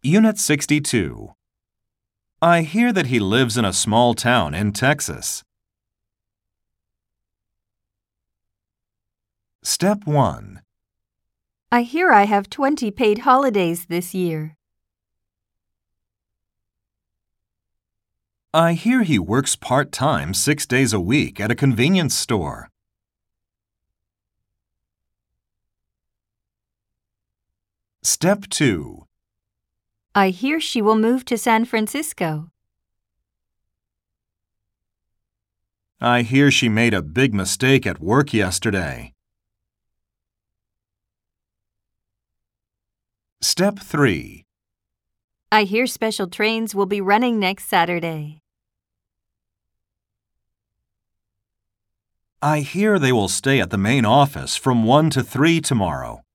Unit 62. I hear that he lives in a small town in Texas. Step 1. I hear I have 20 paid holidays this year. I hear he works part-time 6 days a week at a convenience store. Step 2. I hear she will move to San Francisco. I hear she made a big mistake at work yesterday. Step 3. I hear special trains will be running next Saturday. I hear they will stay at the main office from 1 to 3 tomorrow.